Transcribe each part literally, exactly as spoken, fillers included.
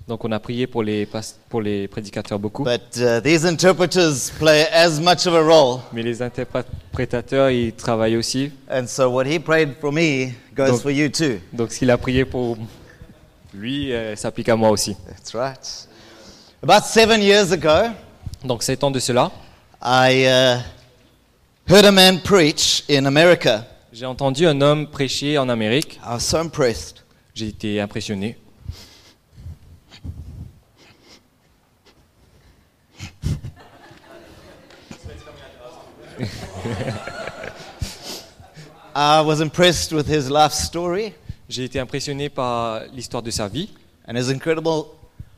Donc on a prié pour les, pas- pour les prédicateurs beaucoup. But uh, these interpreters play as much of a role. Mais les interprétateurs, ils travaillent aussi. And so what he prayed for me goes Donc- for you too. Donc ce qu'il a prié pour lui euh, s'applique à moi aussi. That's right. About seven years ago, Donc sept ans de cela, I uh, heard a man preach in America. j'ai entendu un homme prêcher en Amérique. I was so impressed. J'ai été impressionné. I was impressed with his life story J'ai été impressionné par l'histoire de sa vie and his incredible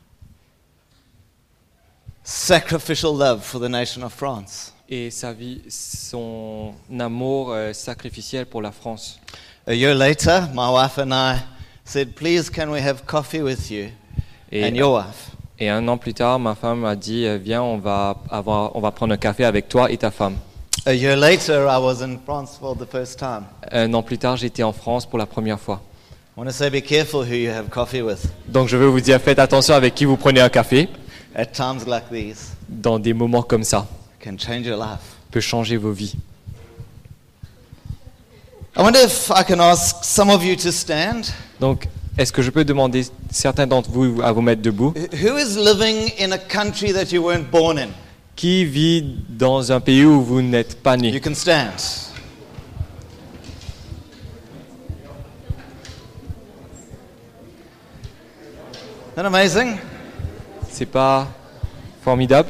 sacrificial love for the nation of France. et sa vie, son amour euh, sacrificiel pour la France. A year later, my wife and I said, please can we have coffee with you Et, and your wife? et un an plus tard, ma femme m'a dit euh, viens, on va avoir, on va prendre un café avec toi et ta femme. A year later, I was in France for the first time. Un an plus tard, j'étais en France pour la première fois. I want to say be careful who you have coffee with Donc je veux vous dire, faites attention avec qui vous prenez un café. at times like these. Dans des moments comme ça, It can change your life. peut changer vos vies. I wonder if I can ask some of you to stand. Donc, est-ce que je peux demander certains d'entre vous à vous mettre debout? Who is living in a country that you weren't born in? Qui vit dans un pays où vous n'êtes pas You né? can stand. Isn't that amazing? C'est pas formidable?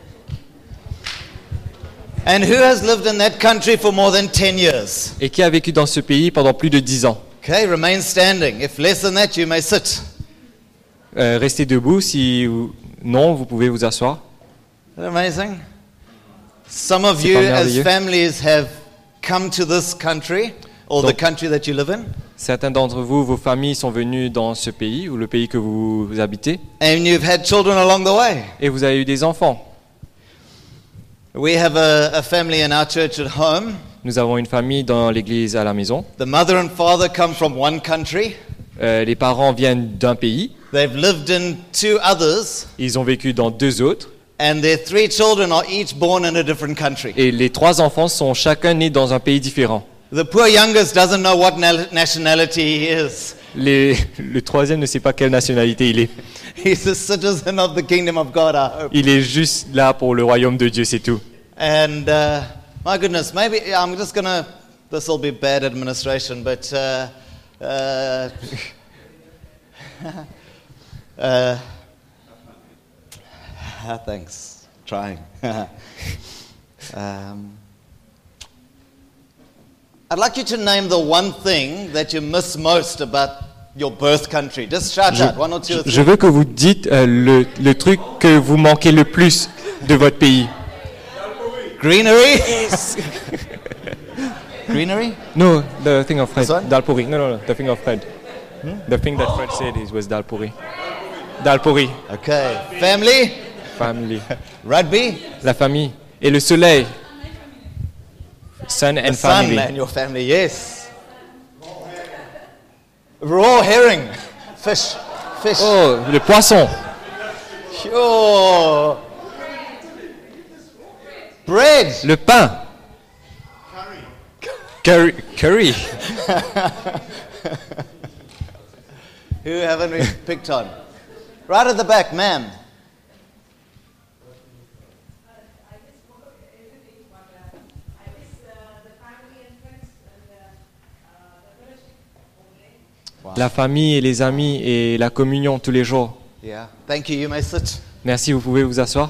And who has lived in that country for more than ten years? Et qui a vécu dans ce pays pendant plus de dix ans? Okay, remain standing. If less than that, you may sit. Euh, restez debout. Si vous- non, vous pouvez vous asseoir. Isn't that amazing? Some of C'est you pas as merveilleux? families have come to this country or the Donc- country that you live in, Certains d'entre vous, vos familles sont venues dans ce pays ou le pays que vous habitez and you've had children along the way. et vous avez eu des enfants. We have a, a family in our church at home. Nous avons une famille dans l'église à la maison. The mother and father come from one country. Euh, les parents viennent d'un pays. They've lived in two others, Ils ont vécu dans deux autres. and their three children are each born in a different country. Et les trois enfants sont chacun nés dans un pays différent. The poor youngest doesn't know what na- nationality he is. Les- le troisième ne sait pas quelle nationalité il est. He's a citizen of the kingdom of God, I hope. Il est juste là pour le royaume de Dieu, c'est tout. And uh, my goodness, maybe I'm just gonna. This will be bad administration, but uh, uh, uh, thanks. Trying. um, I'd like you to name the one thing that you miss most about your birth country. Just shout Je, out one or two or je three. veux que vous dites euh, le, le truc que vous manquez le plus de votre pays. Greenery. Greenery. No, the thing of Fred. This one? Dalpuri. No, no, no, the thing of Fred. The thing that Fred said is was Dalpuri. Dalpuri. Okay. Family. Family. Rugby. La famille. Et le soleil. Sun and The sun family. and your family, yes. Raw herring, fish, fish. Oh, le poisson. Sure. Bread. Le pain. Curry. Curry. Who haven't we picked on? Right at the back, ma'am. La famille et les amis et la communion tous les jours. Yeah. Thank you. You may sit. Merci, vous pouvez vous asseoir.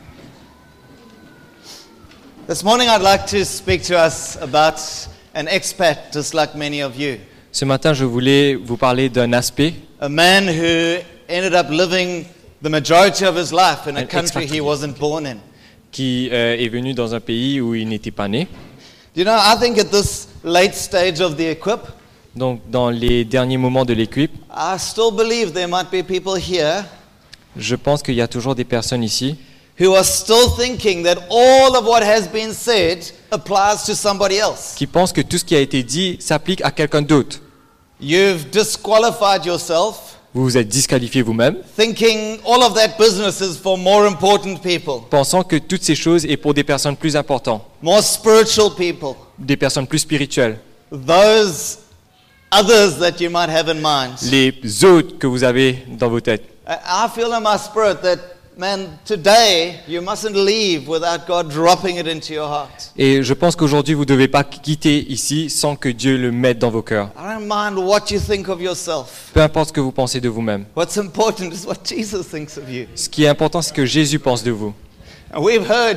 This morning, I'd like to speak to us about an expat, just like many of you. Ce matin, je voulais vous parler d'un aspect, A man who ended up living the majority of his life in a An country he expatriate. wasn't born in. qui euh, est venu dans un pays où il n'était pas né. You know, I think at this late stage of the equip, Donc, dans les derniers moments de l'équipe, I still believe there might be people here je pense qu'il y a toujours des personnes ici who are still thinking that all of what has been said applies to somebody else. qui pensent que tout ce qui a été dit s'applique à quelqu'un d'autre. You've disqualified yourself vous vous êtes disqualifié vous-même, thinking all of that business is for more important people, pensant que toutes ces choses est pour des personnes plus importantes, more spiritual people, des personnes plus spirituelles, those others that you might have in mind. les autres que vous avez dans vos têtes. I I feel in my spirit that, man, today you mustn't leave without God dropping it into your heart. Et je pense qu'aujourd'hui, vous ne devez pas quitter ici sans que Dieu le mette dans vos cœurs. I don't mind what you think of yourself. Peu importe ce que vous pensez de vous-même. What's important is what Jesus thinks of you. Ce qui est important, c'est que Jésus pense de vous. And we've heard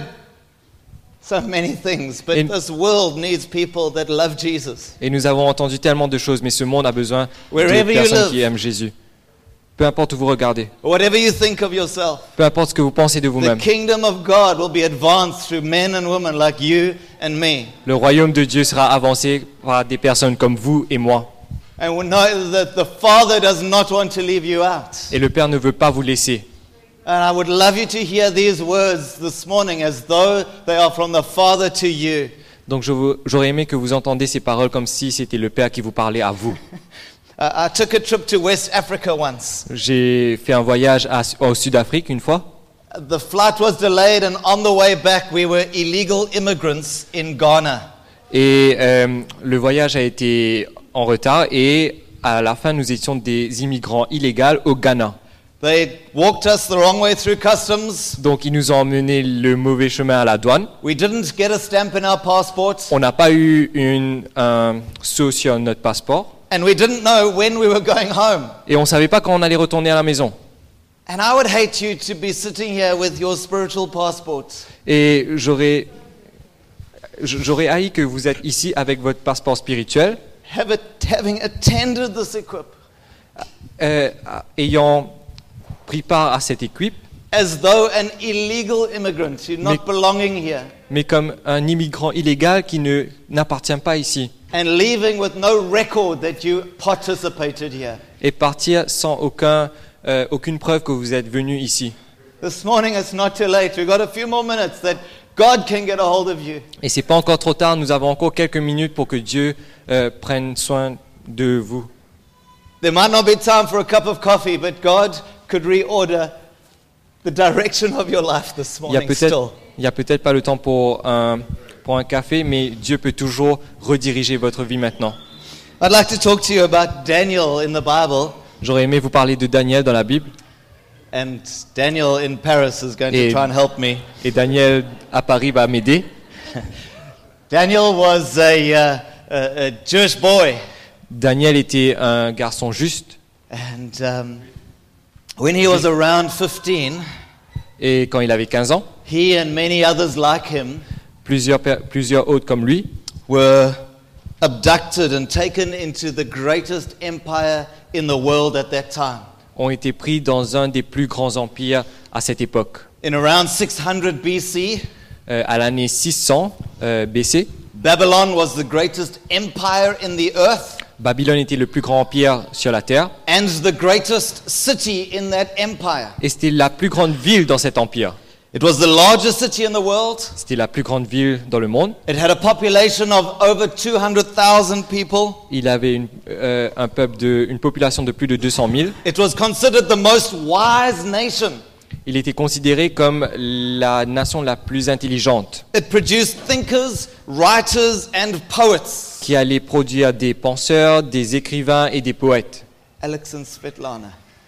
so many things, but Et- this world needs people that love Jesus. Et nous avons entendu tellement de choses, mais ce monde a besoin de Wherever you personnes live. qui aiment Jésus. Peu importe où vous regardez, Whatever you think of yourself, peu importe ce que vous pensez de the vous-même, kingdom of God will be advanced through men and women like you and me. le royaume de Dieu sera avancé par des personnes comme vous et moi. And we know that the Father does not want to leave you out. Et le Père ne veut pas vous laisser. And I would love you to hear these words this morning as though they are from the Father to you. Donc je vous- j'aurais aimé que vous entendiez ces paroles comme si c'était le Père qui vous parlait à vous. Uh, I took a trip to West Africa once. J'ai fait un voyage à- au Sud-Afrique une fois. The flight was delayed, and on the way back, we were illegal immigrants in Ghana. Et euh, le voyage a été en retard et à la fin, nous étions des immigrants illégaux au Ghana. They walked us the wrong way through customs. Donc ils nous ont emmené le mauvais chemin à la douane. We didn't get a stamp in our passport, On n'a pas eu une, un sceau sur notre passeport and we didn't know when we were going home. et on ne savait pas quand on allait retourner à la maison. And I would hate you to be sitting here with your spiritual passport. Et j'aurais, j'aurais haï que vous êtes ici avec votre passeport spirituel, Have it, having attended this equip, euh, ayant pris part à cette équipe, as though an illegal immigrant, you're not Mais- belonging here, mais comme un immigrant illégal qui ne, n'appartient pas ici. and leaving with no record that you participated here. Et partir sans aucun, euh, aucune preuve que vous êtes venu ici. This morning it's not too late. We've got a few more minutes that God can get a hold of you. Et c'est pas encore trop tard, nous avons encore quelques minutes pour que Dieu euh, prenne soin de vous. There might not be time for a cup of coffee, but God could reorder the direction of your life this Il y a morning peut-être, still. il y a peut-être pas le temps pour un, pour un café, mais Dieu peut toujours rediriger votre vie maintenant. I'd like to talk to you about Daniel in the Bible, J'aurais aimé vous parler de Daniel dans la Bible. and Daniel in Paris is going to Et- try and help me. Et Daniel à Paris va m'aider. Daniel was a, uh, a, a Jewish boy, Daniel était un garçon juste. and um, when he was around fifteen, Et quand il avait quinze ans, he and many others like him plusieurs, per- plusieurs autres comme lui were abducted and taken into the greatest empire in the world at that time. ont été pris dans un des plus grands empires à cette époque. In around six hundred B C, Euh, à l'année six cents euh, B C, Babylon was the greatest empire in the earth Babylone était le plus grand empire sur la terre and the greatest city in that empire. et c'était la plus grande ville dans cet empire. It was the largest city in the world. C'était la plus grande ville dans le monde. It had a population of over two hundred thousand people. Il avait une, euh, un peuple de, une population de plus de deux cent mille. It was considered the most wise nation. Il était considéré comme la nation la plus intelligente, It produced thinkers, writers, and poets. qui allait produire des penseurs, des écrivains et des poètes. Alex and Svetlana.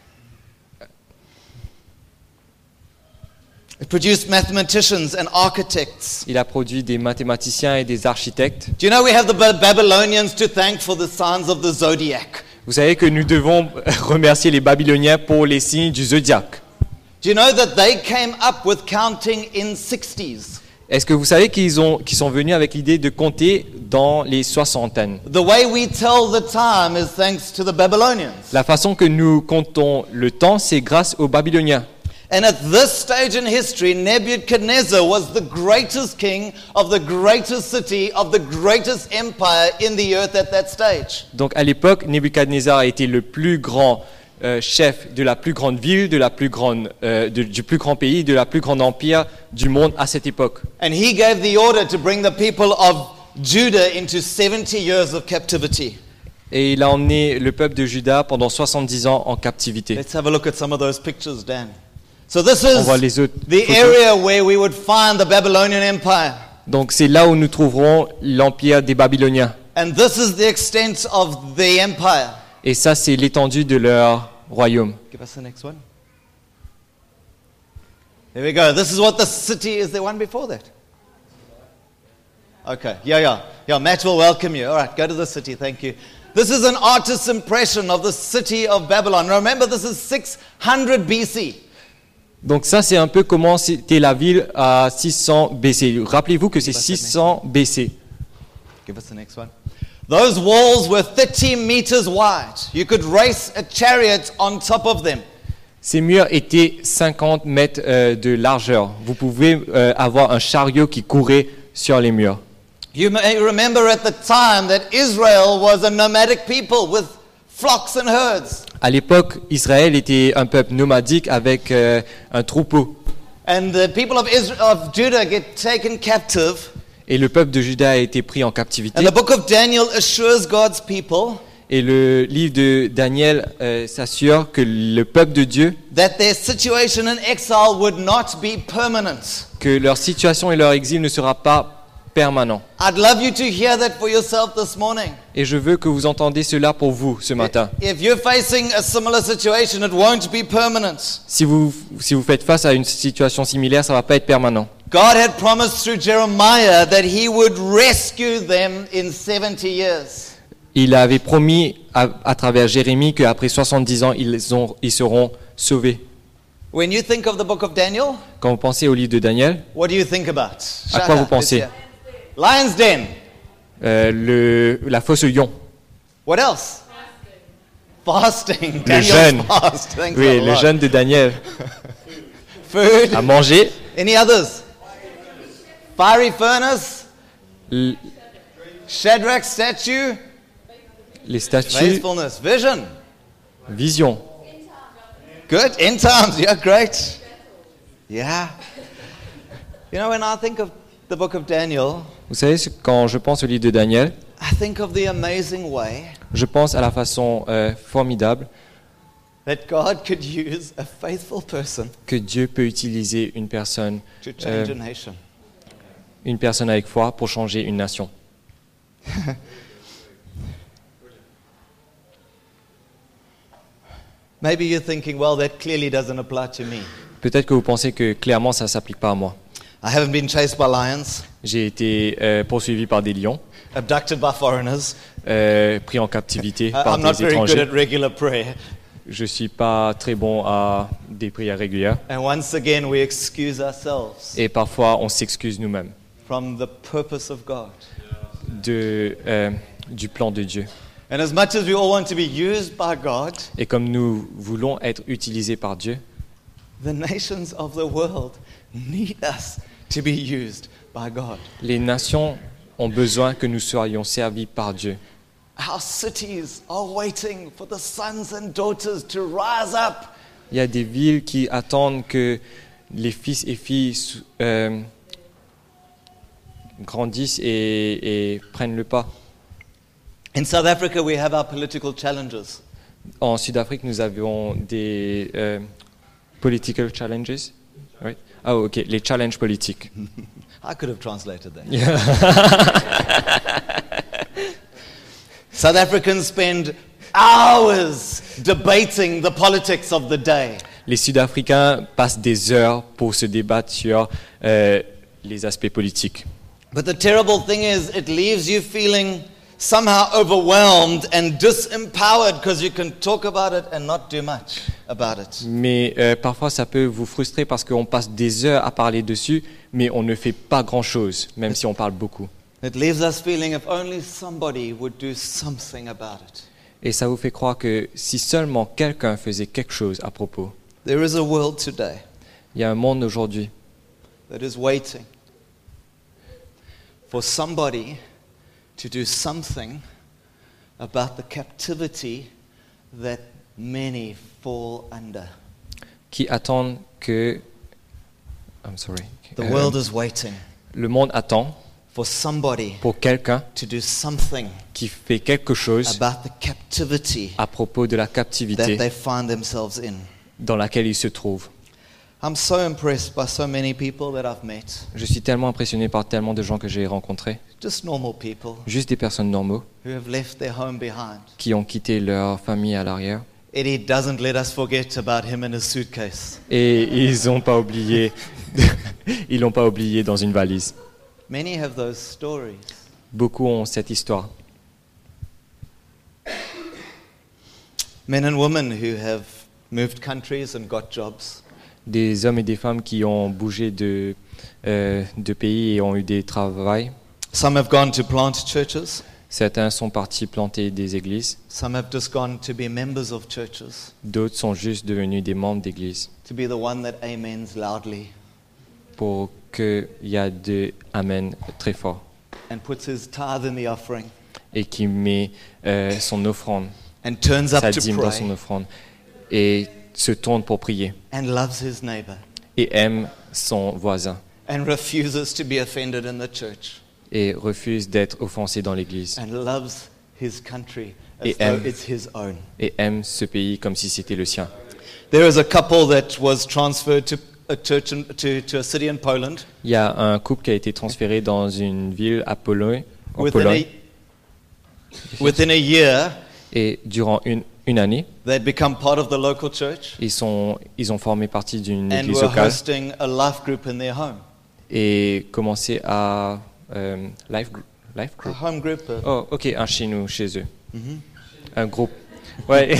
It produced mathematicians and architects. Il a produit des mathématiciens et des architectes. Do you know we have the Ba- Babylonians to thank for the signs of the zodiac? Vous savez que nous devons remercier les Babyloniens pour les signes du zodiaque. Do you know that they came up with counting in sixties? Est-ce que vous savez qu'ils ont, qu'ils sont venus avec l'idée de compter dans les soixantaines? The way we tell the time is thanks to the Babylonians. La façon que nous comptons le temps, c'est grâce aux Babyloniens. And at this stage in history, Nebuchadnezzar was the greatest king of the greatest city of the greatest empire in the earth at that stage. Donc à l'époque, Nebuchadnezzar a été le plus grand euh, chef de la plus grande ville, de la plus grande, euh, de- du plus grand pays, de la plus grande empire du monde à cette époque. And he gave the order to bring the people of Judah into seventy years of captivity. Et il a emmené le peuple de Juda pendant soixante-dix ans en captivité. Let's have a look at some of those pictures, Dan. So this On is voit les autres the photos. area where we would find the Babylonian Empire. Donc c'est là où nous trouverons l'empire des Babyloniens. And this is the extent of the empire. Et ça, c'est l'étendue de leur royaume. Give us the next one. There we go. This is what the city is. There one before that? Okay. Yeah, yeah. Yeah, Matt will welcome you. All right, go to the city. Thank you. This is an artist's impression of the city of Babylon. Remember, this is six hundred B C. Donc ça, c'est un peu comment c'était la ville à six cents B C. Rappelez-vous que c'est six cents B C. Give us the next one. Those walls were thirty meters wide. You could race a chariot on top of them. Ces murs étaient cinquante mètres euh, de largeur. Vous pouvez euh, avoir un chariot qui courait sur les murs. You may remember at the time that Israel was a nomadic people with flocks and herds. À l'époque, Israël était un peuple nomadique avec euh, un troupeau. And the people of, Israel, of Judah get taken captive. Et le peuple de Juda a été pris en captivité. And the book of Daniel assures God's people Et le livre de Daniel euh, s'assure que le peuple de Dieu, that their situation in exile would not be permanent. que leur situation et leur exil ne sera pas permanent. I'd love you to hear that for yourself this morning. Et je veux que vous entendiez cela pour vous ce matin. If you're facing a similar situation, it won't be permanent. Si vous, si vous faites face à une situation similaire, ça ne va pas être permanent. God had promised through Jeremiah that he would rescue them in seventy years. Il avait promis à, à travers Jérémie qu'après soixante-dix ans, ils, ont, ils seront sauvés. When you think of the book of Daniel, Quand vous pensez au livre de Daniel, what do you think about? à quoi vous pensez? Lion's Den. euh, le, la fosse au lion. What else? Fasting. Le Daniel's jeûne. fast. Thanks Oui, a le lot. jeûne de Daniel. Food. À manger, Any others? Fiery furnace. l- Shadrach statue. les statues, Faithfulness. Vision. vision. Good. End times. Yeah, great. Yeah. You know, when I think of the book of Daniel, Vous savez, ce- quand je pense au livre de Daniel, I think of the amazing way je pense à la façon euh, formidable that God could use a faithful person que Dieu peut utiliser une personne, to change Euh, a nation. une personne avec foi pour changer une nation. Maybe you're thinking, well, that clearly doesn't apply to me. Peut-être que vous pensez que clairement ça ne s'applique pas à moi. I haven't been chased by lions, J'ai été euh, poursuivi par des lions, abducted by foreigners. euh, pris en captivité I- par I'm not des very good at étrangers. regular prayer. Je suis pas très bon à des prières régulières. And once again, we excuse ourselves Et parfois, on s'excuse nous-mêmes from the purpose of God. de, euh, du plan de Dieu. And as much as we all want to be used by God, Et comme nous voulons être utilisés par Dieu, the nations of the world need us to be used by God. les nations ont besoin que nous soyons servis par Dieu. Our cities are waiting for the sons and daughters to rise up. Il y a des villes qui attendent que les fils et filles euh, grandissent et, et prennent le pas. In South Africa, we have our political challenges. En Sud-Afrique, nous avions des euh, political challenges. Oui. Ah, ok, les challenges politiques. I could have translated that. Yeah. South Africans spend hours debating the politics of the day. Les Sud-Africains passent des heures pour se débattre sur euh, les aspects politiques. But the terrible thing is, it leaves you feeling somehow overwhelmed and disempowered because you can talk about it and not do much about it. Mais euh, parfois, ça peut vous frustrer parce qu'on passe des heures à parler dessus, mais on ne fait pas grand-chose, même si on parle beaucoup. It leaves us feeling if only somebody would do something about it. Et ça vous fait croire que si seulement quelqu'un faisait quelque chose à propos, There is a world today il y a un monde aujourd'hui that is waiting for somebody to do something about the captivity that many fall under. qui attend que... I'm sorry. The Euh, world is waiting le monde attend for somebody pour quelqu'un to do something qui fait quelque chose about the captivity à propos de la that captivité they find themselves in. dans laquelle il se trouve. I'm so impressed by so many people that I've met, Je suis tellement impressionné par tellement de gens que j'ai rencontrés, just normal people juste des personnes normaux, who have left their home behind. qui ont quitté leur famille à l'arrière. Eddie doesn't let us forget about him and his suitcase. Et ils n'ont pas oublié, ils l'ont pas oublié dans une valise. Many have those stories. Beaucoup ont cette histoire. Men and women who have moved countries and got jobs. Des hommes et des femmes qui ont bougé de, euh, de pays et ont eu des travails. Some have gone to plant churches. Certains sont partis planter des églises. Some have just gone to be members of churches, D'autres sont juste devenus des membres d'églises to be the one that amens loudly pour qu'il y ait de Amen très fort and puts his tithe in the offering et qui met euh, son offrande, and turns up sa to dîme dans son pray offrande et se tourne pour prier and loves his neighbor et aime son voisin and refuses to be offended in the church et refuse d'être offensé dans l'église and loves his country as Et though aime. it's his own. et aime ce pays comme si c'était le sien. There is a couple that was transferred to a church in, to, to a city in Poland. Il y a un couple qui a été transféré dans une ville à Pologne, en Within Pologne a, within a year, et durant une, une année, they'd become part of the local church ils, sont, ils ont formé partie d'une and église were locale hosting a life group in their home. et commencé à euh, life, gr- life A group. home group. uh, Oh, ok, un chez nous, chez eux. mhm. Un groupe. Ouais.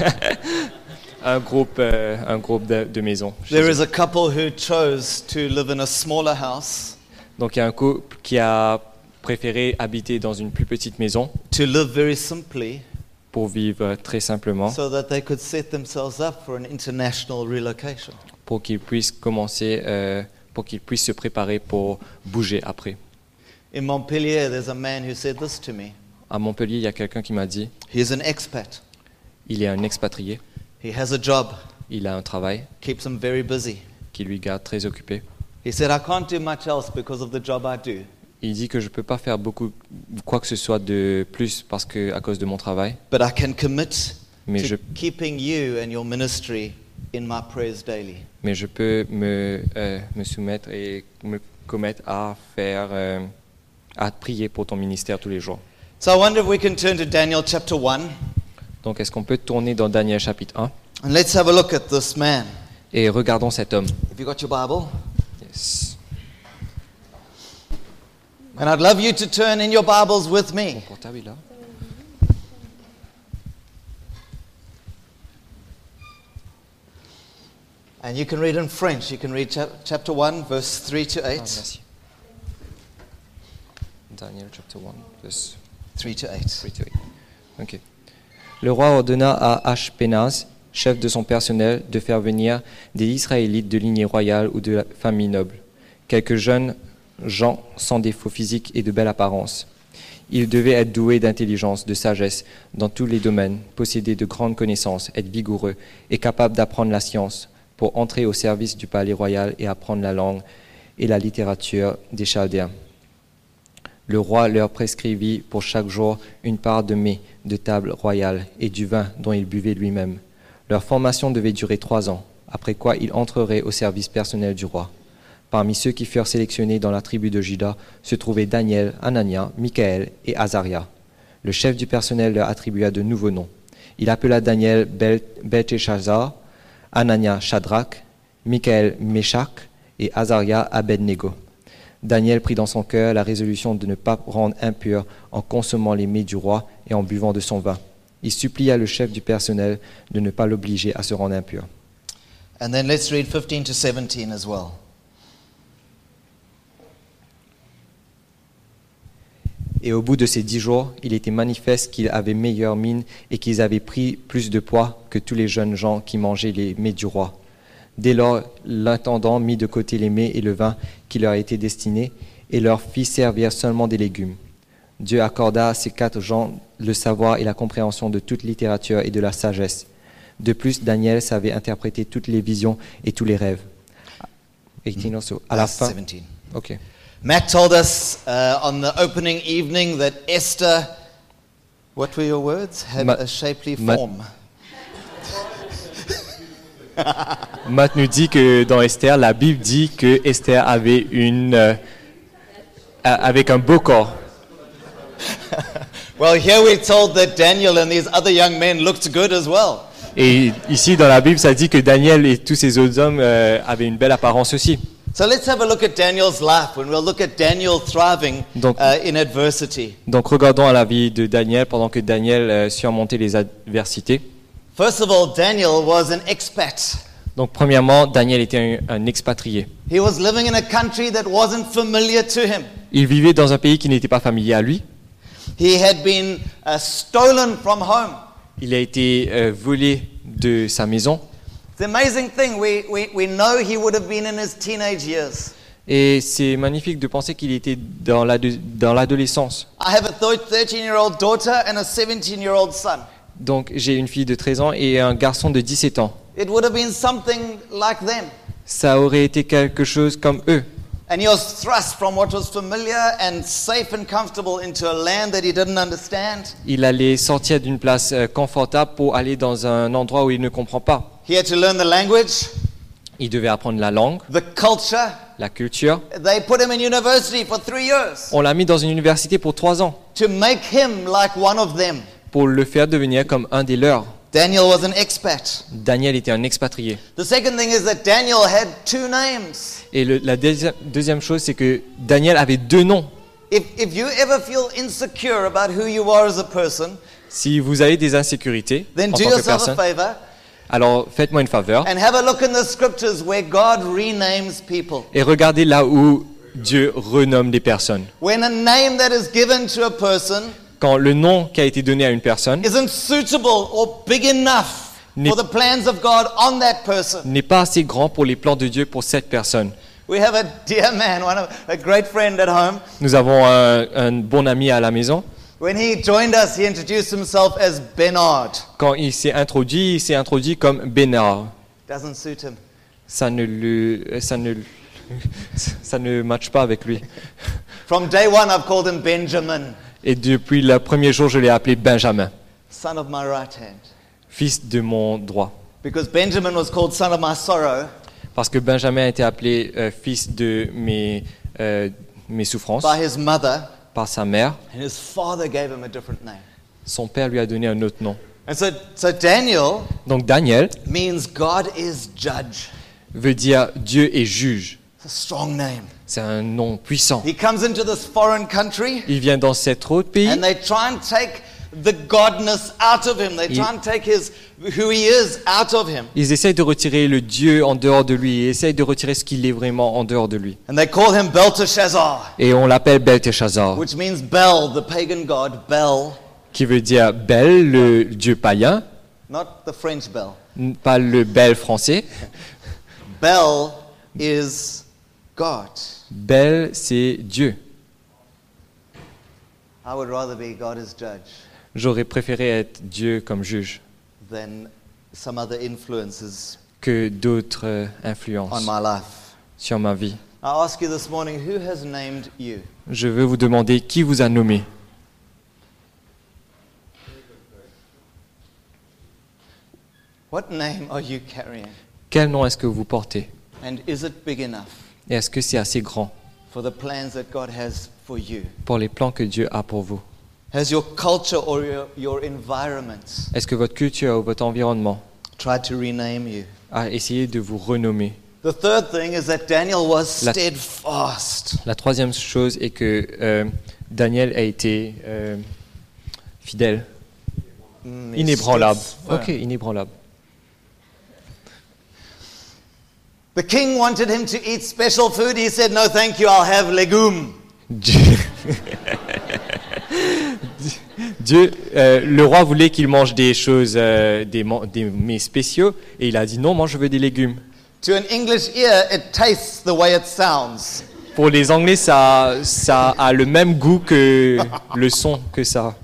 un groupe, euh, un groupe de, de maisons. chez There eux. is a couple who chose to live in a smaller house, Donc il y a un couple qui a préféré habiter dans une plus petite maison to live very simply, pour vivre très simplement, so that they could set themselves up for an international relocation. pour qu'ils puissent commencer, euh, pour qu'ils puissent se préparer pour bouger après. In Montpellier, there's a man who said this to me. À Montpellier, il y a quelqu'un qui m'a dit, He's an expat. il est un expatrié, He has a job, il a un travail keeps him very busy. qui lui garde très occupé. He said, I can't do much else because of the job I do. Il dit que je ne peux pas faire beaucoup, quoi que ce soit de plus parce que, à cause de mon travail, But I can commit mais to je, keeping you and your ministry in my prayers daily. mais je peux me, euh, me soumettre et me commettre à faire, euh, à prier pour ton ministère tous les jours. So I wonder if we can turn to Daniel chapter one, Donc est-ce qu'on peut tourner dans Daniel chapitre un and let's have a look at this man. et regardons cet homme. Have you got your Bible? Yes. And I'd love you to turn in your Bibles with Mon me. portable est là. And you can read in French. You can read chap- chapter one, verse three to Ah, eight. merci. Daniel chapter one, verse three to eight. three to eight. Ok. Le roi ordonna à Ashpenaz, chef de son personnel, de faire venir des Israélites de lignée royale ou de la famille noble, quelques jeunes gens sans défaut physique et de belle apparence. Ils devaient être doués d'intelligence, de sagesse dans tous les domaines, posséder de grandes connaissances, être vigoureux et capables d'apprendre la science pour entrer au service du palais royal et apprendre la langue et la littérature des Chaldéens. Le roi leur prescrivit pour chaque jour une part de mets de table royale et du vin dont il buvait lui-même. Leur formation devait durer trois ans, après quoi ils entreraient au service personnel du roi. Parmi ceux qui furent sélectionnés dans la tribu de Juda se trouvaient Daniel, Anania, Michaël et Azaria. Le chef du personnel leur attribua de nouveaux noms. Il appela Daniel Bel- Belteshazzar, Anania Shadrach, Michaël Meshach et Azaria Abednego. Daniel prit dans son cœur la résolution de ne pas rendre impur en consommant les mets du roi et en buvant de son vin. Il supplia le chef du personnel de ne pas l'obliger à se rendre impur. And then let's read fifteen to seventeen as well. Et au bout de ces dix jours, il était manifeste qu'ils avaient meilleure mine et qu'ils avaient pris plus de poids que tous les jeunes gens qui mangeaient les mets du roi. Dès lors, l'intendant mit de côté les mets et le vin qui leur étaient destinés et leur fit servir seulement des légumes. Dieu accorda à ces quatre gens le savoir et la compréhension de toute littérature et de la sagesse. De plus, Daniel savait interpréter toutes les visions et tous les rêves. eighteen also. À la Verse fin, seventeen. ok. Matt told us uh, on the opening evening that Esther, what were your words? Had Ma- a shapely Ma- form. Matt nous dit que dans Esther, la Bible dit que Esther avait une euh, a- avec un beau corps. Well, here we're told that Daniel and these other young men looked good as well. Et ici dans la Bible, ça dit que Daniel et tous ces autres hommes euh, avaient une belle apparence aussi. So let's have a look at Daniel's life when we'll look at Daniel thriving Donc- uh, in adversity. Donc regardons à la vie de Daniel pendant que Daniel euh, surmontait les adversités. First of all, Daniel was an expat. Donc premièrement, Daniel était un, un expatrié. He was living in a country that wasn't familiar to him. Il vivait dans un pays qui n'était pas familier à lui. He had been uh, stolen from home. Il a été euh, volé de sa maison. It's an amazing thing. We, we, we know he would have been in his teenage years. Et c'est magnifique de penser qu'il était dans l'ado- dans l'adolescence. I have a thirteen-year-old daughter and a seventeen-year-old son. Donc j'ai une fille de treize ans et un garçon de dix-sept ans. It would have been something like them. Ça aurait été quelque chose comme eux. And he was thrust from what was familiar and safe and comfortable into a land that he didn't understand. Il allait sortir d'une place euh, confortable pour aller dans un endroit où il ne comprend pas. He had to learn the language, Il devait apprendre la langue, the culture. la culture. They put him in university for three years On l'a mis dans une université pour trois ans to make him like one of them. pour le faire devenir comme un des leurs. Daniel was an expat. Daniel était un expatrié. The second thing is that Daniel had two names. Et le- la deuxi- deuxième chose, c'est que Daniel avait deux noms. If, if you ever feel insecure about who you are as a person, Si vous avez des insécurités then en do tant que yourself a personne, favor alors faites-moi une faveur and have a look in the scriptures where God renames people. et regardez là où Dieu renomme des personnes. When a name that is given to a person Quand le nom qui a été donné à une personne isn't suitable or big enough N'est- for the plans of God on that person. n'est pas assez grand pour les plans de Dieu pour cette personne. We have a dear man, one of, a great friend at home. Nous avons un, un bon ami à la maison. When he joined us, he introduced himself as Bernard. Quand il s'est introduit, il s'est introduit comme Bénard. Doesn't suit him. Ça ne le, ça ne, ça ne matche pas avec lui. From day one, I've called him Benjamin, Et depuis le premier jour, je l'ai appelé Benjamin, son of my right hand. fils de mon droit. Because Benjamin was called son of my sorrow Parce que Benjamin a été appelé euh, fils de mes, euh, mes souffrances by his mother, par sa mère. and his father gave him a different name. Son père lui a donné un autre nom. And so, so Daniel Donc Daniel means God is judge. veut dire Dieu est juge. It's a strong name. C'est un nom puissant. He comes into this foreign country, Il vient dans cet autre pays and they try and take the godness out of him. They try and take his who he is out of him. Ils essayent de retirer le Dieu en dehors de lui. Ils essayent de retirer ce qu'il est vraiment en dehors de lui. And they call him Belteshazzar, Et on l'appelle Belteshazzar, which means Bel, the pagan god, Bel, qui veut dire Bel, le Dieu païen, not the French Bel. n- pas le Bel français. Bel is God. Bel, c'est Dieu. I would rather be God as judge J'aurais préféré être Dieu comme juge than some other influences que d'autres euh, on influences my life. sur ma vie. I ask you this morning, who has named you? Je veux vous demander qui vous a nommé. What name are you carrying? Quel nom est-ce que vous portez? And is it big enough Et est-ce que c'est assez grand for the plans that God has for you? pour les plans que Dieu a pour vous? Has your culture or your, your environment Est-ce que votre culture ou votre environnement tried to rename you? a essayé de vous renommer? The third thing is that Daniel was La- steadfast. La troisième chose est que euh, Daniel a été euh, fidèle, Mm, inébranlable. steadfast. Ok, inébranlable. The king wanted him to eat special food. He said, "No, thank you. I'll have legume." Dieu, Dieu, euh, le roi voulait qu'il mange des choses, euh, des, man- des mets spéciaux, et il a dit non, moi je veux des légumes. To an English ear, it tastes the way it sounds. Pour les Anglais, ça, ça a le même goût que le son que ça.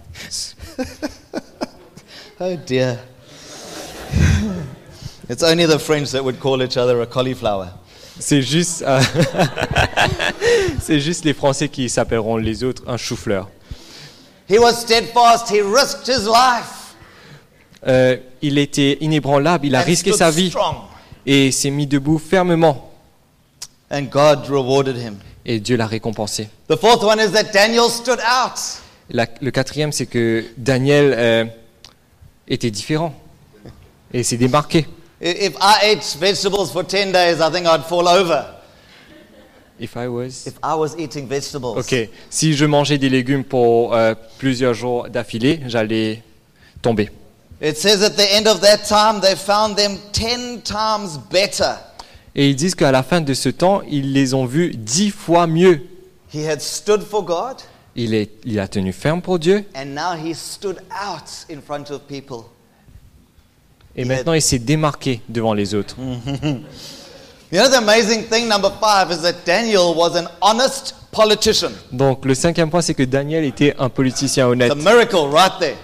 Oh dear. It's only the French that would call each other a cauliflower. C'est juste, euh, c'est juste les Français qui s'appelleront les autres un chou-fleur. He was steadfast. He risked his life. Euh, il était inébranlable, il a and risqué stood sa vie strong. et s'est mis debout fermement. And God rewarded him. Et Dieu l'a récompensé. The fourth one is that Daniel stood out. La- le quatrième, c'est que Daniel euh, était différent et s'est démarqué. I- If I ate vegetables for ten days, I think I'd fall over. If I was... If I was eating vegetables. Ok, si je mangeais des légumes pour euh, plusieurs jours d'affilée, j'allais tomber. It says at the end of that time, they found them ten times better. Et ils disent qu'à la fin de ce temps, ils les ont vus dix fois mieux. He had stood for God, Il, est, il a tenu ferme pour Dieu and now he stood out in front of people. et maintenant il s'est démarqué devant les autres. You know, the amazing thing, number five, is that Daniel was an honest politician. Donc le cinquième point, c'est que Daniel était un politicien honnête. It's a miracle right there.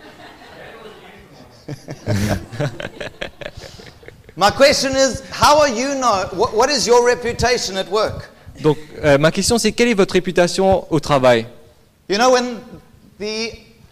My question is, how are you know? What, what is your reputation at work? Donc euh, ma question, c'est quelle est votre réputation au travail? You know, when the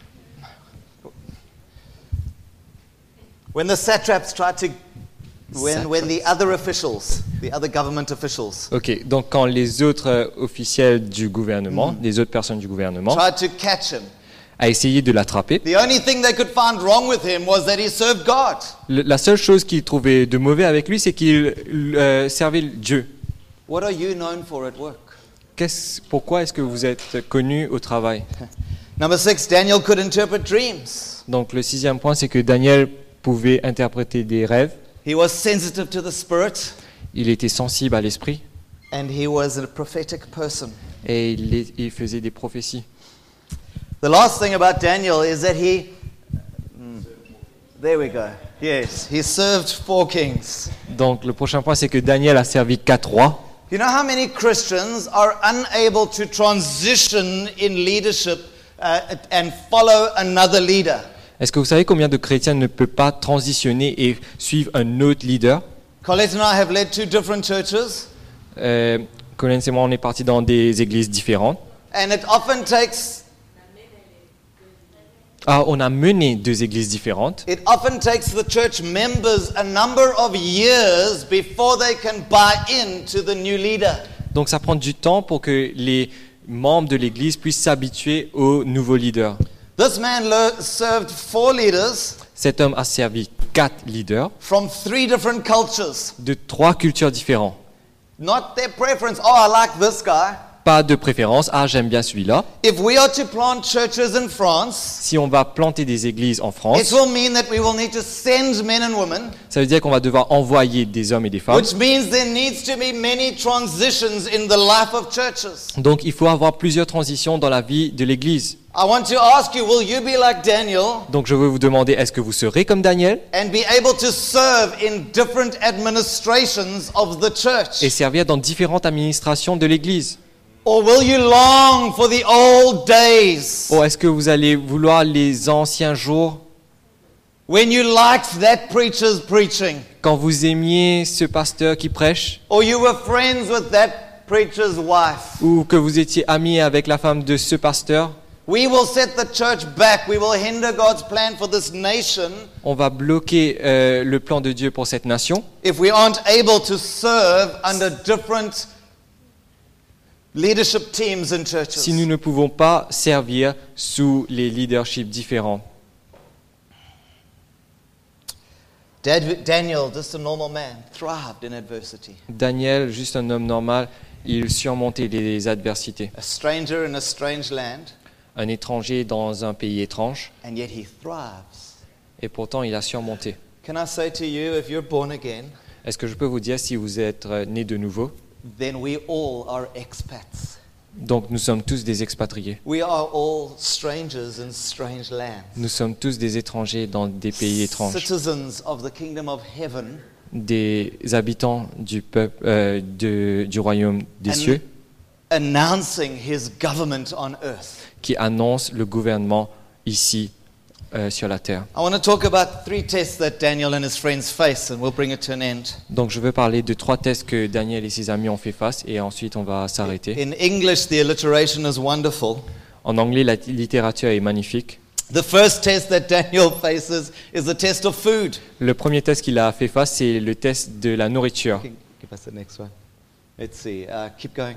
when the satraps tried to, when when the other officials, the other government officials, Ok, donc quand les autres euh, officiels du gouvernement, les autres personnes du gouvernement, tried to catch him, a essayé de l'attraper, the only thing they could find wrong with him was that he served God. le- la seule chose qu'ils trouvaient de mauvais avec lui, c'est qu'il euh, servait Dieu. What are you known for at work? Qu'est-ce- pourquoi est-ce que vous êtes connu au travail? Number six, Daniel could interpret dreams. Donc le sixième point, c'est que Daniel pouvait interpréter des rêves, He was sensitive to the Spirit, il était sensible à l'esprit and he was a prophetic person. et il, est- il faisait des prophéties. The last thing about Daniel is that he, Mm. there we go. Yes, he served four kings. Donc le prochain point, c'est que Daniel a servi quatre rois. You know how many Christians are unable to transition in leadership uh, and follow another leader? Est-ce que vous savez combien de chrétiens ne peuvent pas transitionner et suivre un autre leader? Colette and I have led two different churches, euh, Collins et moi, on est partis dans des églises différentes. and it often takes Ah, on a mené deux églises différentes. it often takes the church members a number of years before they can buy into the new leader. Donc ça prend du temps pour que les membres de l'église puissent s'habituer au nouveau leader. This man le- served four leaders Cet homme a servi quatre leaders from three different cultures. de trois cultures différentes. Not their preference. Oh, I like this guy. Pas de préférence, ah j'aime bien celui-là. If we are to plant churches in France, Si on va planter des églises en it France, will mean that we will need to send men and women, ça veut dire qu'on va devoir envoyer des hommes et des femmes. which means there needs to be many transitions in the life of churches. Donc il faut avoir plusieurs transitions dans la vie de l'église. I want to ask you, will you be like Daniel Donc je veux vous demander, est-ce que vous serez comme Daniel and be able to serve in different administrations of the church? et servir dans différentes administrations de l'église? Or will you long for the old days Ou est-ce que vous allez vouloir les anciens jours when you liked that preacher's preaching? quand vous aimiez ce pasteur qui prêche Or you were friends with that preacher's wife? ou que vous étiez amis avec la femme de ce pasteur? We will set the church back. We will hinder God's plan for this nation On va bloquer euh, le plan de Dieu pour cette nation if we aren't able to serve under different leadership teams in churches. si nous ne pouvons pas servir sous les leaderships différents. Dad- Daniel, just a normal man, thrived in adversity. Daniel, juste un homme normal, il surmontait les adversités. A stranger in a strange land, Un étranger dans un pays étrange, and yet he thrives. et pourtant il a surmonté. Can I say to you, if you're born again, Est-ce que je peux vous dire, si vous êtes euh, né de nouveau, then we all are expats. donc nous sommes tous des expatriés. We are all strangers in strange lands. Nous sommes tous des étrangers dans des pays étranges, Citizens of the kingdom of heaven, des habitants du peuple, euh, de- du royaume des And- cieux, announcing his government on earth. qui annoncent le gouvernement ici euh, sur la terre. I want to talk about three tests that Daniel and his friends face, and we'll bring it to an end. Donc je veux parler de trois tests que Daniel et ses amis ont fait face et ensuite on va s'arrêter. In English, the alliteration is wonderful. En anglais, la littérature est magnifique. The first test that Daniel faces is the test of food. Le premier test qu'il a fait face, c'est le test de la nourriture. Give us the next one. Let's see. Uh, keep going.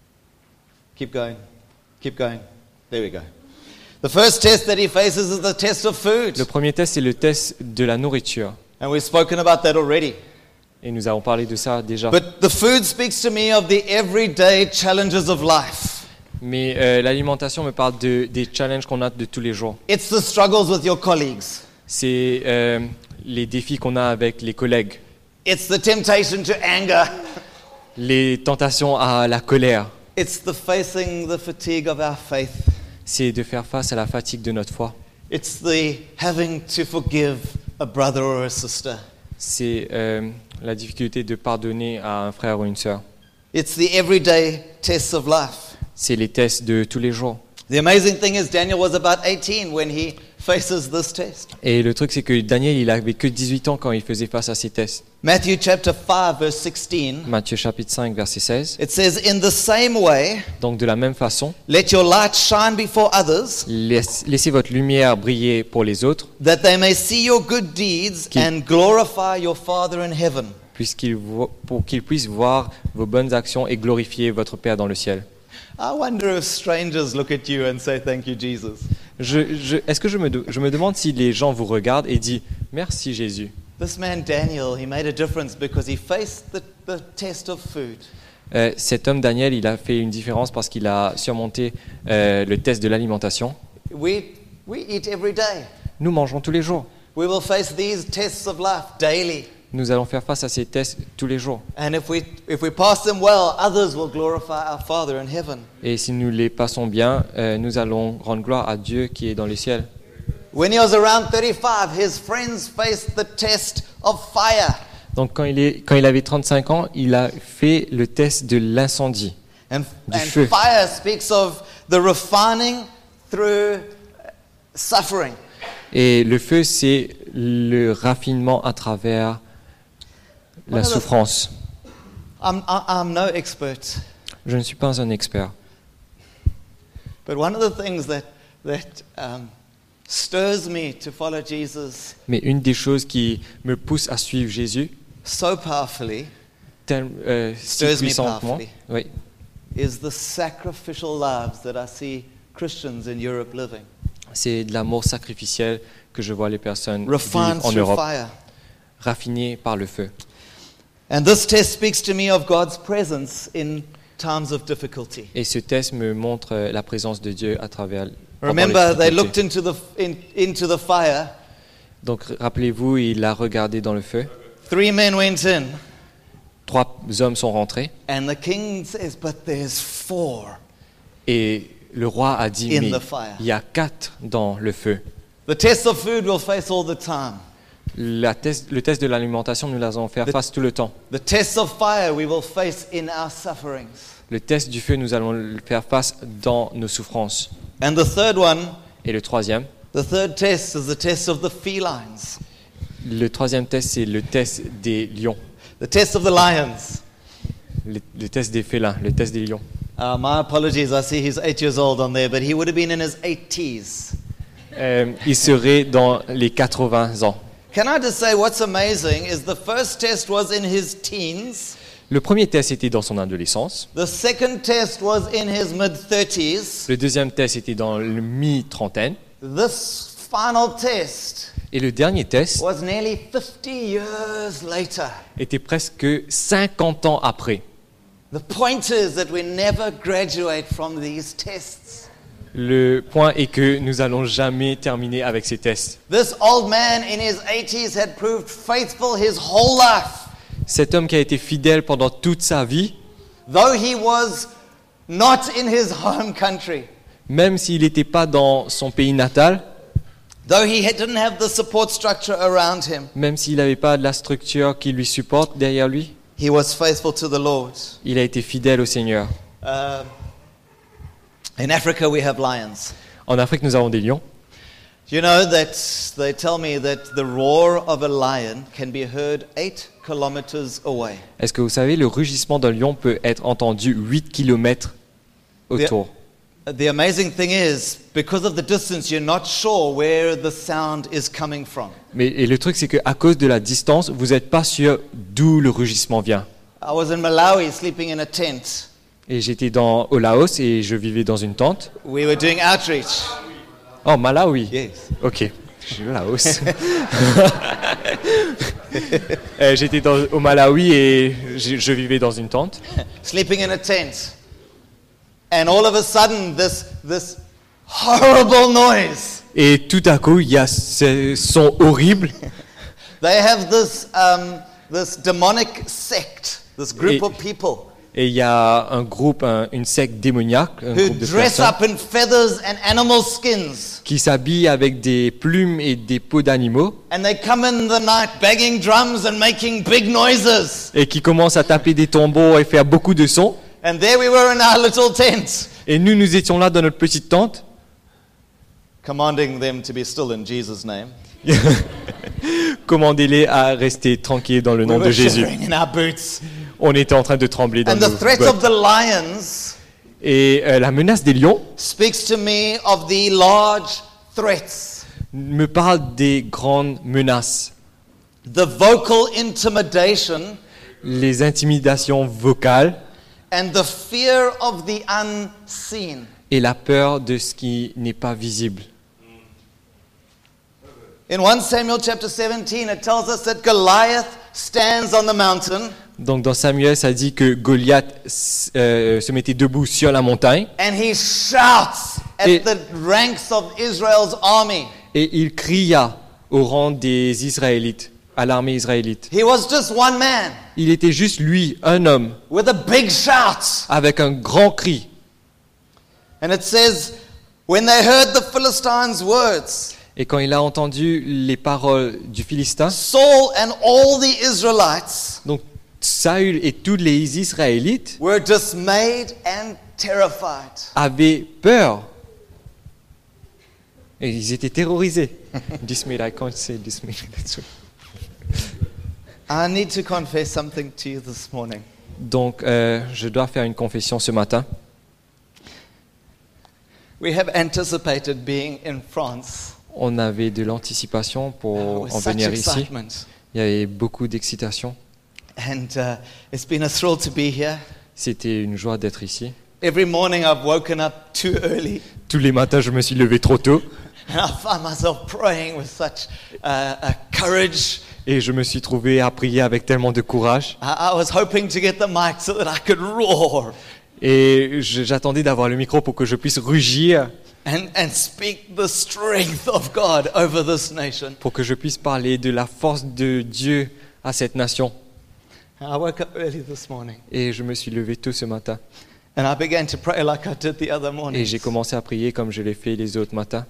Keep going. Keep going. There we go. The first test that he faces is the test of food. Le premier test, c'est le test de la nourriture. And we've spoken about that already. Et nous avons parlé de ça déjà. But the food speaks to me of the everyday challenges of life. Mais euh, l'alimentation me parle de, des challenges qu'on a de tous les jours. It's the struggles with your colleagues. C'est euh, les défis qu'on a avec les collègues, It's the temptation to anger. les tentations à la colère. It's the facing the fatigue of our faith. C'est de faire face à la fatigue de notre foi. It's the having to forgive a brother or a sister. C'est euh, la difficulté de pardonner à un frère ou une sœur. It's the everyday tests of life. C'est les tests de tous les jours. The amazing thing is Daniel was about eighteen when he faces this test. Et le truc, c'est que Daniel, il avait que dix-huit ans quand il faisait face à ces tests. Matthew chapter five verse sixteen. Matthieu chapitre cinq, verset seize. It says, in the same way, Donc de la même façon, let your light shine before others, laisse- laissez votre lumière briller pour les autres, that they may see your good deeds Qui- and glorify your Father in heaven. puisqu'ils vo- pour qu'ils puissent voir vos bonnes actions et glorifier votre Père dans le ciel. I wonder if strangers look at you and say, thank you, Jesus. Je, je- est-ce que je me, de- je me demande si les gens vous regardent et disent « Merci Jésus This man Daniel, he made a difference because he faced the, the test of food. Euh, Cet homme Daniel, il a fait une différence parce qu'il a surmonté euh, le test de l'alimentation. We, we eat every day. Nous mangeons tous les jours. We will face these tests of life daily. Nous allons faire face à ces tests tous les jours. And if we, if we pass them well, others will glorify our Father in heaven. Et si nous les passons bien, euh, nous allons rendre gloire à Dieu qui est dans les ciels. When he was around thirty-five, his friends faced the test of fire. Donc quand il, est, quand il avait trente-cinq ans, il a fait le test de l'incendie. And, Du and feu. fire speaks of the refining through suffering. Et le feu, c'est le raffinement à travers la One of the- souffrance. I'm, I- I'm no expert, Je ne suis pas un expert. but one of the things that, that um, stirs me to follow Jesus Mais une des choses qui me pousse à suivre Jésus, so powerfully tel- euh, si Stirs me puissamment, powerfully. oui, is the sacrificial lives that I see Christians in Europe living. c'est de l'amour sacrificiel que je vois les personnes Refined vivre en through Europe, fire. raffinées par le feu. And this test speaks to me of God's presence in times of difficulty. Et ce test me montre euh, la présence de Dieu à travers. pendant les Remember, they difficultés. looked into the, in, into the fire. Donc rappelez-vous, il a regardé dans le feu. Three men went in, Trois hommes sont rentrés and the king says, but there's four. et le roi a dit In mais the fire. il y a quatre dans le feu. The test of food we'll face all the time. La test- le test de l'alimentation, nous l'allons faire The- face tout le temps. The test of fire we will face in our sufferings. Le test du feu, nous allons le faire face dans nos souffrances. And the third one, Et le troisième, the third test is the test of the felines, le troisième test, c'est le test des lions, the test of the lions. le, le test des félins, le test des lions. Uh, my apologies, I see he's eight years old on there, but he would have been in his eighties. Euh, il serait dans les quatre-vingts ans. Can I just say what's amazing is the first test was in his teens, Le premier test était dans son adolescence. the second test was in his mid-thirties. Le deuxième test était dans le mi-trentaine. This final test Et le dernier test was nearly fifty years later. était presque cinquante ans après. The point is that we never graduate from these tests. Le point est que nous allons jamais terminer avec ces tests. This old man in his eighties had proved faithful his whole life. Cet homme qui a été fidèle pendant toute sa vie, Though he was not in his home country, même s'il n'était pas dans son pays natal, though he had- didn't have the support structure around him, même s'il n'avait pas de la structure qui lui supporte derrière lui, he was faithful to the Lord. il a été fidèle au Seigneur. Um, in Africa, we have lions. En Afrique, nous avons des lions. You know that they tell me that the roar of a lion can be heard eight kilometers away. Est-ce que vous savez, le rugissement d'un lion peut être entendu huit kilomètres autour? The amazing thing is, because of the distance, you're not sure where the sound is coming from. Mais et le truc, c'est qu'à cause de la distance, vous n'êtes pas sûr d'où le rugissement vient. I was in Malawi sleeping in a tent. Et j'étais dans, au Laos et je vivais dans une tente. We were doing outreach. Oh, Malawi. Yes. Ok, je suis au Laos. Euh, J'étais dans- au Malawi et je, je vivais dans une tente. Sleeping in a tent. And all of a sudden, this, this horrible noise. Et tout à coup, il y a ce son horrible. They have this, um, this demonic sect, this group Et- of people Et il y a un groupe, un- une secte démoniaque, un who groupe de dress personnes up in feathers and animal skins. qui s'habillent avec des plumes et des peaux d'animaux And they come in the night banging drums and making big noises. et qui commencent à taper des tambours et faire beaucoup de sons. And there we were in our little tent, Et nous, nous étions là dans notre petite tente, commanding them to be still in Jesus' name. commandez-les à rester tranquilles dans le We nom were de Jésus. shivering in our boots. On était en train de trembler dans And nos the threat bottes. of the lions Et euh, la menace des lions speaks to me of the large threats, me parle des grandes menaces, the vocal intimidation, les intimidations vocales and the fear of the unseen. et la peur de ce qui n'est pas visible. In First Samuel chapter seventeen, it tells us that Goliath stands on the mountain Donc dans Samuel, ça dit que Goliath euh, se mettait debout sur la montagne and he shouts at Et- the ranks of Israel's army. et il cria au rang des Israélites, à l'armée israélite. He was just one man Il était juste lui, un homme, with a big shout. avec un grand cri. And it says, when they heard the Philistines' words, Et quand il a entendu les paroles du Philistin, Saul and all the Israelites donc Saül et tous les Israélites were dismayed and terrified. avaient peur. Et ils étaient terrorisés. Dismayed, I can't say dismayed. That's right. I need to confess something to you this morning. Donc, euh, je dois faire une confession ce matin. We have anticipated being in France On avait de l'anticipation pour with en such venir ici. excitement. Il y avait beaucoup d'excitation. And uh, it's been a thrill to be here. C'était une joie d'être ici. Every morning I've woken up too early Tous les matins, je me suis levé trop tôt and I find myself praying with such uh, uh, courage. et je me suis trouvé à prier avec tellement de courage. I, I was hoping to get the mic so that I could roar Et je- j'attendais d'avoir le micro pour que je puisse rugir, and, and speak the strength of God over this nation. pour que je puisse parler de la force de Dieu à cette nation. I woke up early this morning Et je me suis levé tôt ce matin. and I began to pray like I did the other morning. Et j'ai commencé à prier comme je l'ai fait les autres matins.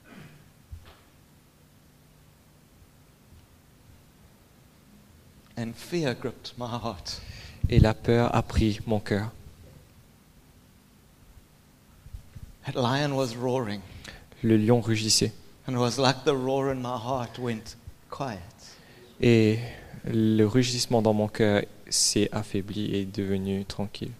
And fear gripped my heart. Et la peur a pris mon cœur. That lion was roaring, Le lion rugissait. and it was like the roar in my heart went quiet. Et le rugissement dans mon cœur s'est affaibli et est devenu tranquille.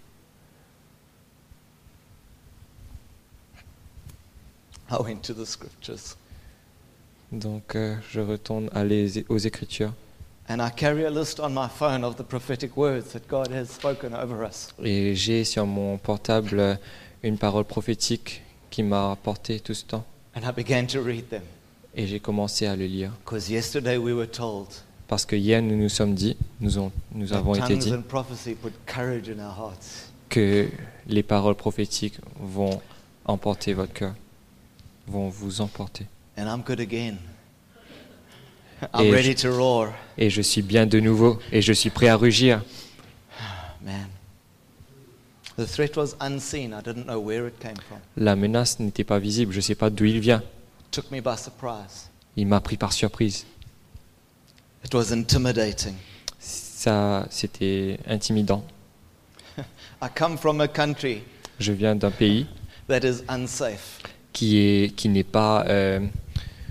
I went to the scriptures, Donc euh, je retourne à les- aux Écritures. and I carry a list on my phone of the prophetic words that God has spoken over us. Et j'ai sur mon portable euh, une parole prophétique qui m'a apporté tout ce temps. And I began to read them. Et j'ai commencé à le lire. Because yesterday we were told Parce que hier, nous nous sommes dit, nous, ont- nous that avons été tongues dit and prophecy put courage in our hearts. que les paroles prophétiques vont emporter votre cœur, vont vous emporter. And I'm good again. I'm Et ready je- to roar. Et je suis bien de nouveau, et je suis prêt à rugir. Man. The threat was unseen. I didn't know where it came from. La menace n'était pas visible, je ne sais pas d'où il vient. It took me by surprise. Il m'a pris par surprise. It was intimidating. Ça, c'était intimidant. I come from a country Je viens d'un pays that is unsafe. qui est qui n'est pas euh,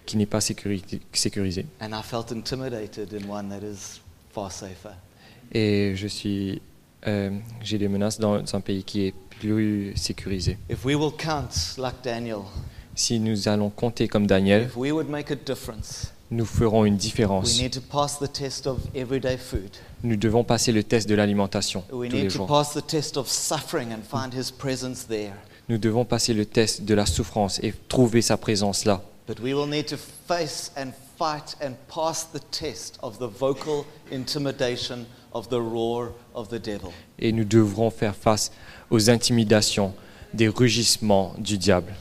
qui n'est pas sécuri- sécurisé. And I felt intimidated in one that is far safer. Et je suis, euh, j'ai des menaces dans un pays qui est plus sécurisé. If we will count like Daniel, Si nous allons compter comme Daniel, if we would make a difference, nous ferons une we différence. need to pass the test of everyday food. Nous devons passer le test de l'alimentation We tous les need to jours. pass the test of suffering and find His presence there. Nous devons passer le test de la souffrance et trouver sa présence là. But we will need to face and fight and pass the test of the vocal intimidation of the roar of the devil. Et nous devrons faire face aux intimidations, des rugissements du diable.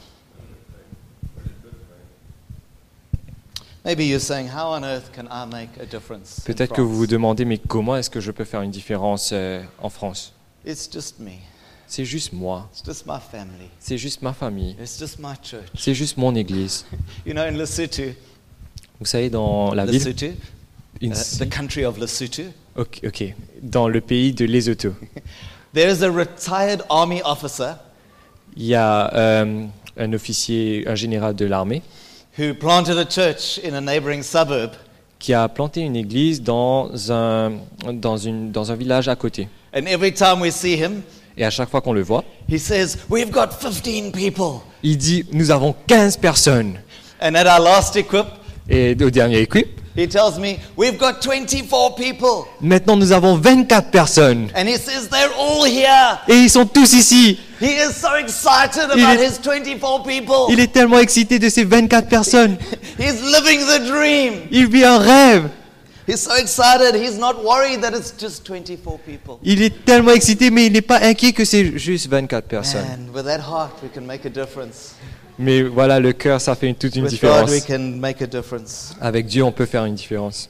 Maybe you're saying, how on earth can I make a difference? in Peut-être que vous vous France? demandez, mais comment est-ce que je peux faire une différence euh, en France? It's just me. C'est juste moi, It's just my family. c'est juste ma famille, It's just my church. c'est juste mon église. You know, in Lesotho, Vous savez, dans la ville, Lesotho, uh, ici- the country of Lesotho, ok, ok, dans le pays de Lesotho, there is a retired army officer il y a euh, un officier, un général de l'armée, who planted a church in a neighboring suburb. qui a planté une église dans un, dans une, dans un village à côté. And every time we see him, Et à chaque fois qu'on le voit, he says, we've got fifteen people. il dit, nous avons quinze personnes. And at our last equip, Et au dernier équipe, he tells me, we've got twenty-four people. maintenant nous avons vingt-quatre personnes. And he says, they're all here. Et ils sont tous ici. He is so excited Il about est- his twenty-four people. Il est tellement excité de ces vingt-quatre personnes. He's living the dream. Il vit un rêve. He's so excited, he's not worried that it's just twenty-four people. Il est tellement excité, mais il n'est pas inquiet que c'est juste vingt-quatre personnes. And with that heart, we can make a difference. Mais voilà, le cœur, ça fait une- toute une With God, différence. we can make a difference. Avec Dieu, on peut faire une différence.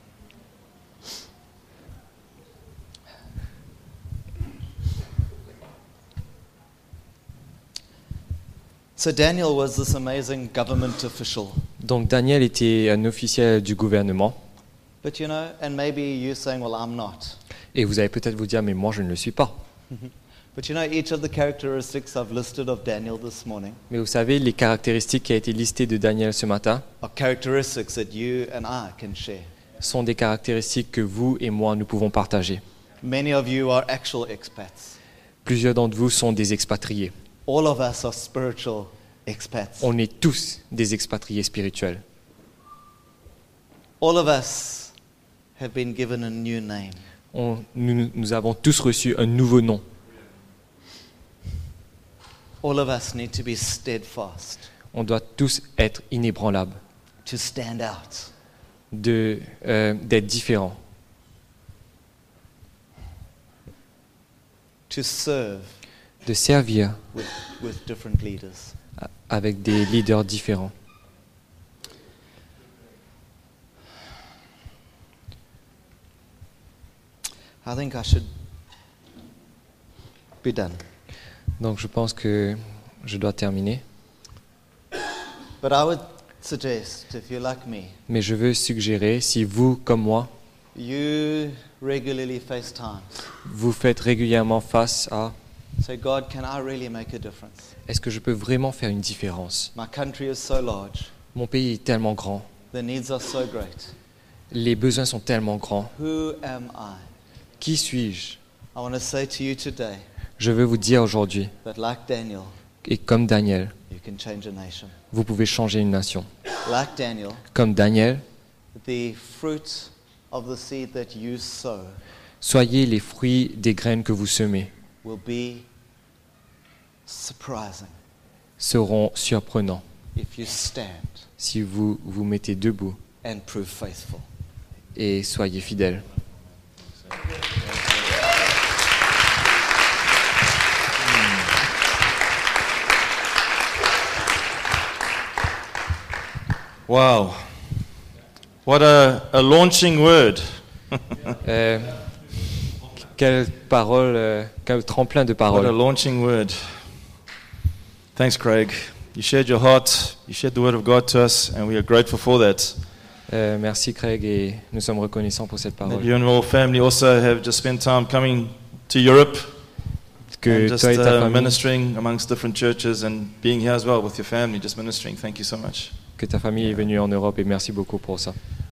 So Daniel was this amazing government official. Donc Daniel était un officiel du gouvernement. But you know, and maybe you're saying, well, I'm not. Et vous allez peut-être vous dire, mais moi je ne le suis pas. But you know, each of the characteristics I've listed of Daniel this morning Mais vous savez, les caractéristiques qui ont été listées de Daniel ce matin are characteristics that you and I can share. sont des caractéristiques que vous et moi, nous pouvons partager. Many of you are actual expats. Plusieurs d'entre vous sont des expatriés. All of us are spiritual expats. On est tous des expatriés spirituels. All of us have been given a new name. On- nous, nous avons tous reçu un nouveau nom. All of us need to be steadfast, On doit tous être inébranlables, to stand out. de, euh, d'être différents, To serve de servir with, with different leaders. a- avec des leaders différents. I think I should be done. Donc je pense que je dois terminer. But I would suggest, if you're like me, Mais je veux suggérer, si vous, comme moi, you regularly face times. vous faites régulièrement face à Say, God, can I really make a difference? est-ce que je peux vraiment faire une différence? My country is so large. Mon pays est tellement grand, The needs are so great. les besoins sont tellement grands. Who am I? Qui suis-je? I want to say to you today Je veux vous dire aujourd'hui, that like Daniel, et comme Daniel, you can change a nation. vous pouvez changer une nation. Like Daniel, Comme Daniel, the fruit of the seed that you sow soyez les fruits des graines que vous semez, will be surprising seront surprenants if you stand si vous vous mettez debout and prove faithful. et soyez fidèles. Wow. What a, a launching word. Euh, quelle parole, euh, quel tremplin de What a paroles. launching word. Thanks, Craig. You shared your heart, you shared the word of God to us, and we are grateful for that. Euh, merci Craig et nous sommes reconnaissants pour cette That parole. you and your family also have just spent time coming to Europe Que and just toi et ta uh, famille, ministering amongst different churches and being here as well with your family, just ministering. Thank you so much. que ta famille est venue en Europe et merci beaucoup pour ça.